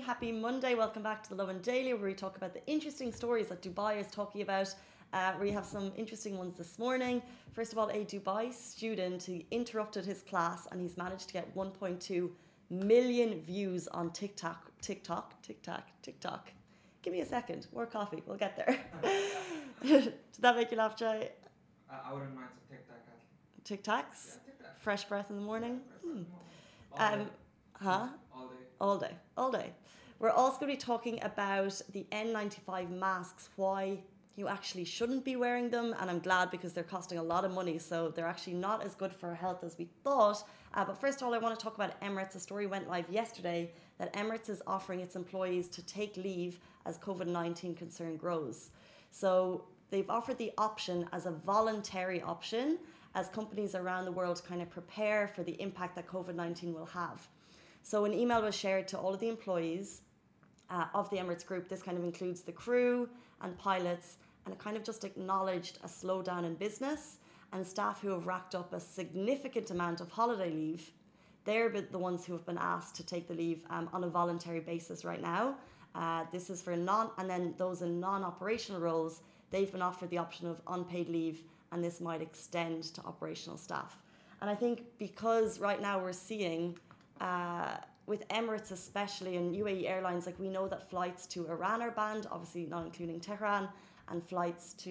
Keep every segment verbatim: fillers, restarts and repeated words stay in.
happy Monday. Welcome back to the Lovin Daily, where we talk about the interesting stories that Dubai is talking about. Uh, we have some interesting ones this morning. First of all, a Dubai student who interrupted his class and he's managed to get one point two million views on TikTok. TikTok, TikTok, TikTok. Give me a second. More coffee. We'll get there. Did that make you laugh, Jay? Uh, I wouldn't mind some TikTok. Tic Tacs? Yeah, TikTok. Fresh breath in the morning? Yeah, Hmm. all Um, day. huh? All day. All day, all day. We're also going to be talking about the N ninety-five masks, why you actually shouldn't be wearing them, and I'm glad because they're costing a lot of money, so they're actually not as good for our health as we thought. Uh, but first of all, I want to talk about Emirates. A story went live yesterday that Emirates is offering its employees to take leave as COVID nineteen concern grows. So they've offered the option as a voluntary option as companies around the world kind of prepare for the impact that COVID nineteen will have. So an email was shared to all of the employees uh, of the Emirates Group. This kind of includes the crew and pilots, and it kind of just acknowledged a slowdown in business and staff who have racked up a significant amount of holiday leave. They're the ones who have been asked to take the leave um, on a voluntary basis right now. Uh, this is for non, and then those in non-operational roles, they've been offered the option of unpaid leave, and this might extend to operational staff. And I think because right now we're seeing Uh, with Emirates especially and U A E Airlines, like we know that flights to Iran are banned, obviously not including Tehran, and flights to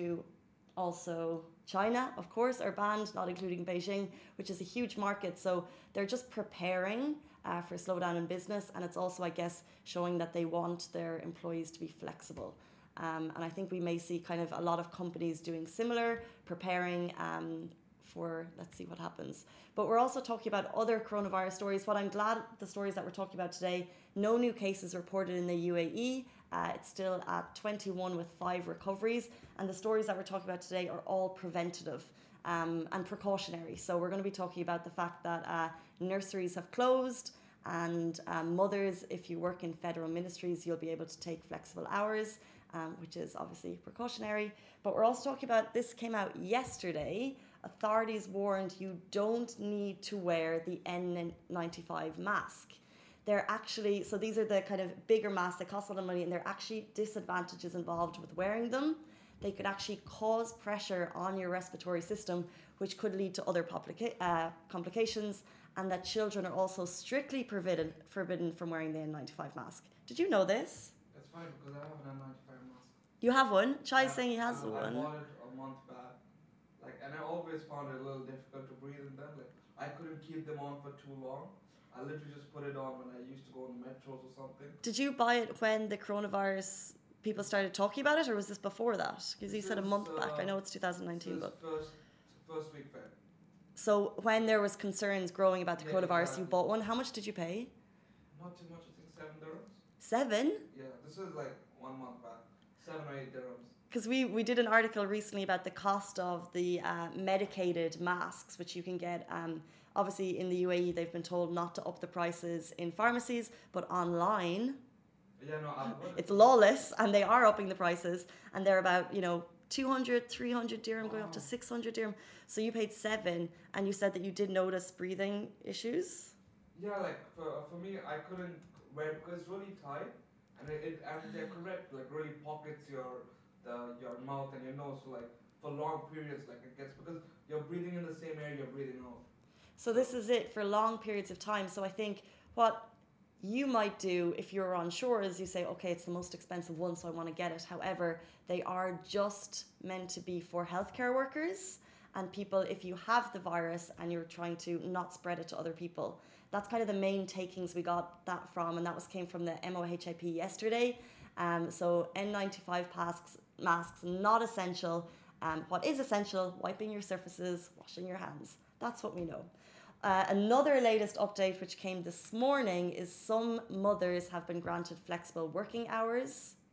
also China, of course, are banned, not including Beijing, which is a huge market. So they're just preparing uh, for a slowdown in business, and it's also, I guess, showing that they want their employees to be flexible. Um, and I think we may see kind of a lot of companies doing similar, preparing um, for, let's see what happens. But we're also talking about other coronavirus stories. What I'm glad the stories that we're talking about today, no new cases reported in the U A E. Uh, it's still at twenty-one with five recoveries. And the stories that we're talking about today are all preventative um, and precautionary. So we're going to be talking about the fact that uh, nurseries have closed, and um, mothers, if you work in federal ministries, you'll be able to take flexible hours, um, which is obviously precautionary. But we're also talking about, this came out yesterday, authorities warned you don't need to wear the N ninety-five mask. They're actually, so these are the kind of bigger masks that cost a lot of money, and there are actually disadvantages involved with wearing them. They could actually cause pressure on your respiratory system, which could lead to other complica- uh, complications, and that children are also strictly forbidden, forbidden from wearing the N ninety-five mask. Did you know this? That's fine because I have an N ninety-five mask. You have one? Chai's Yeah, saying he has I, one. I bought it a month back. Like, and I always found it a little difficult to breathe in them. Like, I couldn't keep them on for too long. I literally just put it on when I used to go on metros or something. Did you buy it when the coronavirus people started talking about it, or was this before that? Because you said a month uh, back. I know it's two thousand nineteen, but first, first week Feb. so when there was concerns growing about the Yeah, coronavirus, exactly. you bought one. How much did you pay? Not too much. I think seven dirhams. Seven? Yeah, this is like one month back. Seven or eight dirhams. Because we, we did an article recently about the cost of the uh, medicated masks, which you can get. Um, obviously, in the U A E, they've been told not to up the prices in pharmacies, but online, Yeah, no, I bought it. it's lawless, and they are upping the prices, and they're about, you know, two hundred, three hundred dirham, going up to Wow. six hundred dirham. So you paid seven, and you said that you did notice breathing issues. Yeah, like for for me, I couldn't wear it because it's really tight, and it, it and they're correct, like really pockets your the your mouth and your nose. So like for long periods, like it gets because you're breathing in the same air you're breathing out. So this is it for long periods of time. So I think what you might do if you're unsure is you say, okay, it's the most expensive one, so I want to get it. However, they are just meant to be for healthcare workers and people, if you have the virus and you're trying to not spread it to other people. That's kind of the main takings we got that from, and that was came from the M O H I P yesterday. Um, so N ninety-five masks, masks not essential. Um, what is essential? Wiping your surfaces, washing your hands. That's what we know. Uh, another latest update which came this morning is some mothers have been granted flexible working hours.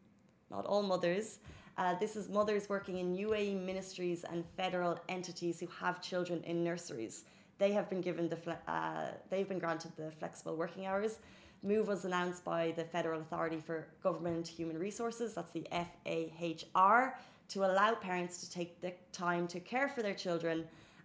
Not all mothers. Uh, this is mothers working in U A E ministries and federal entities who have children in nurseries. They have been given the fle- uh, they've been granted the flexible working hours. Move was announced by the Federal Authority for Government Human Resources, that's the F A H R, to allow parents to take the time to care for their children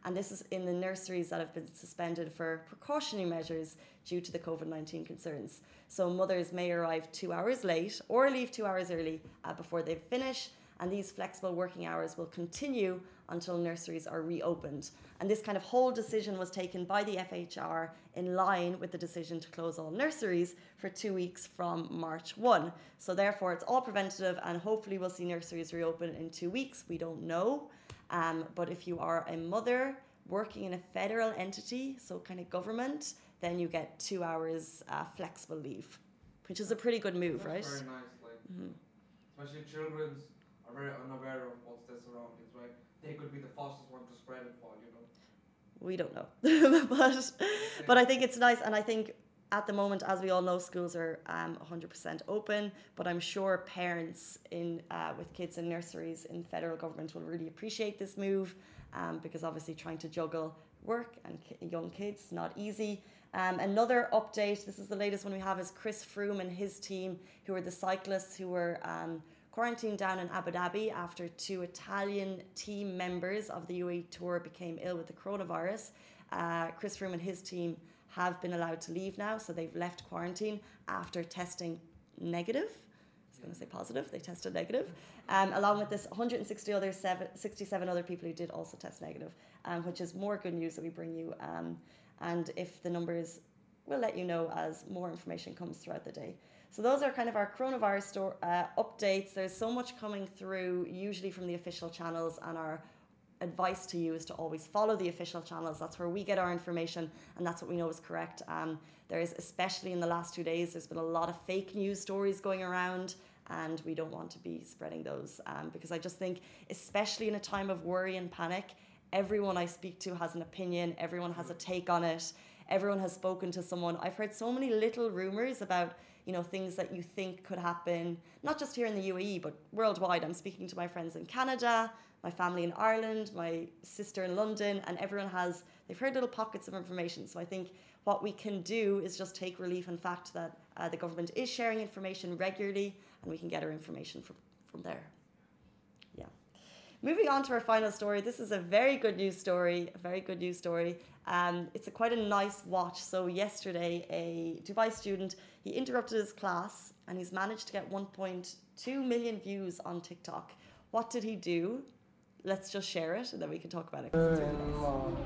And this is in the nurseries that have been suspended for precautionary measures due to the COVID nineteen concerns. So mothers may arrive two hours late or leave two hours early uh, before they finish. And these flexible working hours will continue until nurseries are reopened. And this kind of whole decision was taken by the F H R in line with the decision to close all nurseries for two weeks from March first. So therefore, it's all preventative, and hopefully we'll see nurseries reopen in two weeks. We don't know. Um, but if you are a mother working in a federal entity, so kind of government, then you get two hours uh, flexible leave, which is a pretty good move, That's right? very nice, like, Mm-hmm. especially children's are very unaware of what's their surroundings, right? They could be the fastest one to spread it for, you know. We don't know, but but I think it's nice, and I think at the moment, as we all know, schools are um, one hundred percent open. But I'm sure parents in uh, with kids in nurseries in federal government will really appreciate this move, um, because obviously trying to juggle work and ki- young kids is not easy. Um, another update, this is the latest one we have, is Chris Froome and his team, who are the cyclists who were um, quarantined down in Abu Dhabi after two Italian team members of the U A E Tour became ill with the coronavirus. Uh, Chris Froome and his team have been allowed to leave now, so they've left quarantine after testing negative. I was going to say positive, they tested negative, um, along with this one hundred sixty other seven, sixty-seven other people who did also test negative, um, which is more good news that we bring you. Um, and if the numbers, we'll let you know as more information comes throughout the day. So those are kind of our coronavirus store, uh, updates. There's so much coming through, usually from the official channels, and our advice to you is to always follow the official channels. That's where we get our information, and that's what we know is correct. Um, there is, especially in the last two days, there's been a lot of fake news stories going around, and we don't want to be spreading those, um, because I just think, especially in a time of worry and panic, everyone I speak to has an opinion, everyone has a take on it, everyone has spoken to someone. I've heard so many little rumors about, you know, things that you think could happen, not just here in the U A E, but worldwide. I'm speaking to my friends in Canada, my family in Ireland, my sister in London, and everyone has, they've heard little pockets of information. So I think what we can do is just take relief in the fact that uh, the government is sharing information regularly, and we can get our information from, from there. Yeah. Moving on to our final story. This is a very good news story, a very good news story. Um, it's a quite a nice watch. So yesterday, a Dubai student, he interrupted his class, and he's managed to get one point two million views on TikTok. What did he do? Let's just share it, and then we can talk about it. 'Cause it's really nice.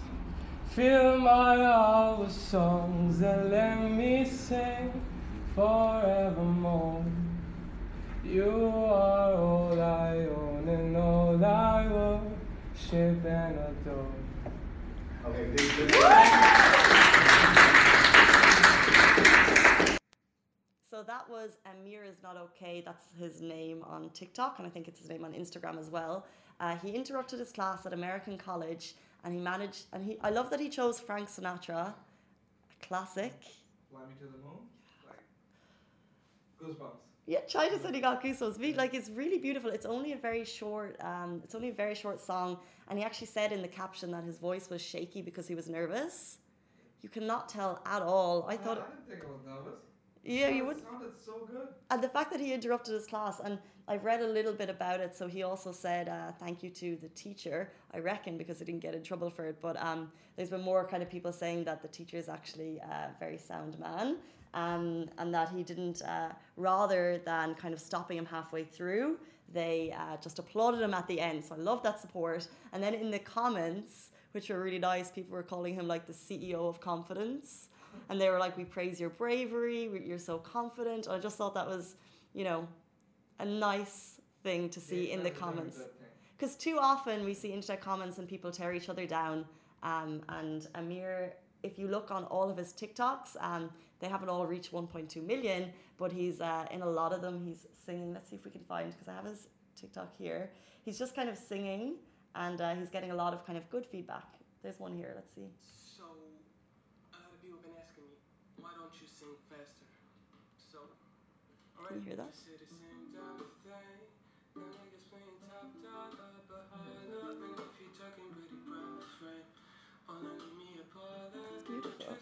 Fill my heart with songs and let me sing forevermore. You are all I own and all I worship and adore. Okay, this, this. So that was Amir Is Not Okay. That's his name on TikTok, and I think it's his name on Instagram as well. Uh, he interrupted his class at American College, and he managed, and he, I love that he chose Frank Sinatra, a classic. Fly Me to the Moon, like goosebumps. Yeah, China said he got goosebumps. Me, like, it's really beautiful. It's only a very short, um, it's only a very short song, and he actually said in the caption that his voice was shaky because he was nervous. You cannot tell at all. I thought, I didn't think I was nervous. yeah, It you would. sounded so good. And the fact that he interrupted his class, and I've read a little bit about it, so he also said uh, thank you to the teacher, I reckon, because he didn't get in trouble for it. But um, there's been more kind of people saying that the teacher is actually a very sound man, um, and that he didn't, uh, rather than kind of stopping him halfway through, they uh, just applauded him at the end. So I love that support. And then in the comments, which were really nice, people were calling him like the C E O of confidence. And they were like, we praise your bravery, you're so confident. I just thought that was, you know, a nice thing to see Yeah, in the that was a very comments. good thing. Because too often we see internet comments and people tear each other down. Um, and Amir, if you look on all of his TikToks, um, they haven't all reached one point two million, but he's uh, in a lot of them, he's singing. Let's see if we can find, because I have his TikTok here. He's just kind of singing, and uh, he's getting a lot of kind of good feedback. There's one here, let's see. So, a lot of people have been asking me, why don't you sing faster? So, Can you hear that? It's beautiful.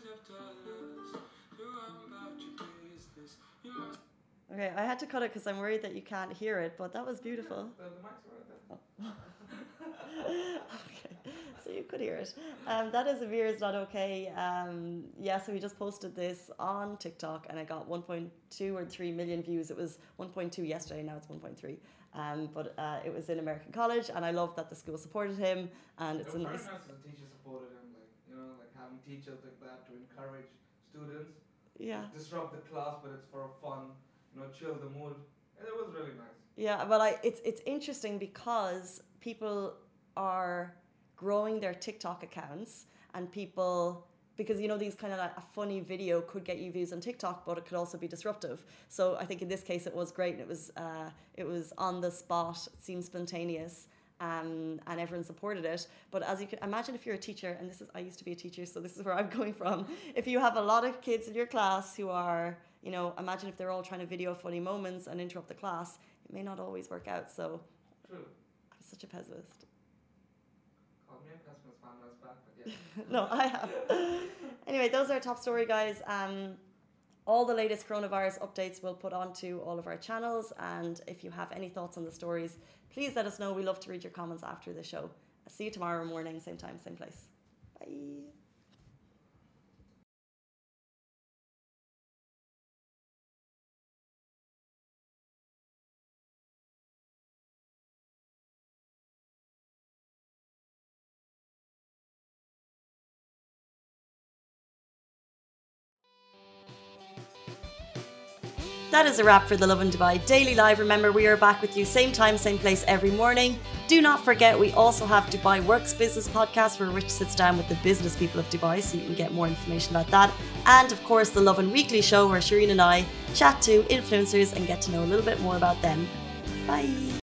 Okay, I had to cut it because I'm worried that you can't hear it, but that was beautiful. The, the mic's right there. Okay, so you could hear it. Um, that is Amir is not okay. Um, yeah, so we just posted this on TikTok and I got one point two or three million views. It was one point two yesterday, now it's one point three. Um, but uh, it was in American College, and I love that the school supported him, and it's it a was nice. very nice that the teachers supported him, like you know, like having teachers like that to encourage students. Yeah. Disrupt the class, but it's for fun. You know, chill the mood. And it was really nice. Yeah, well, I it's it's interesting because people are growing their TikTok accounts, and people. Because, you know, these kind of like a funny video could get you views on TikTok, but it could also be disruptive. So I think in this case it was great, and it was uh, it was on the spot, it seemed spontaneous, um, and everyone supported it. But as you can imagine, if you're a teacher, and this is, I used to be a teacher, so this is where I'm going from. If you have a lot of kids in your class who are, you know, imagine if they're all trying to video funny moments and interrupt the class, it may not always work out. So True. I'm such a pessimist. Call me a pessimist, man, that's back, but yeah. No, I have. Anyway, those are our top story, guys. Um, all the latest coronavirus updates we'll put onto all of our channels. And if you have any thoughts on the stories, please let us know. We love to read your comments after the show. I'll see you tomorrow morning, same time, same place. Bye. That is a wrap for the Lovin Dubai Daily Live. Remember, we are back with you same time, same place every morning. Do not forget, we also have Dubai Works Business Podcast, where Rich sits down with the business people of Dubai, so you can get more information about that. And of course, the Lovin Weekly Show, where Shireen and I chat to influencers and get to know a little bit more about them. Bye.